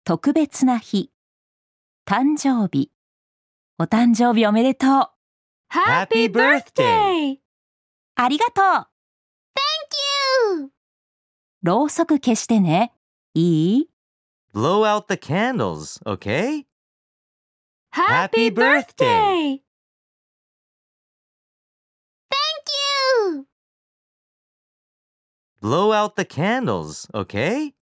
特別な日、誕生日、お誕生日おめでとう。 Happy birthday! ありがとう。 Thank you! ろうそく消してね。いい？ Blow out the candles, okay? Happy birthday! Thank you! Blow out the candles, okay?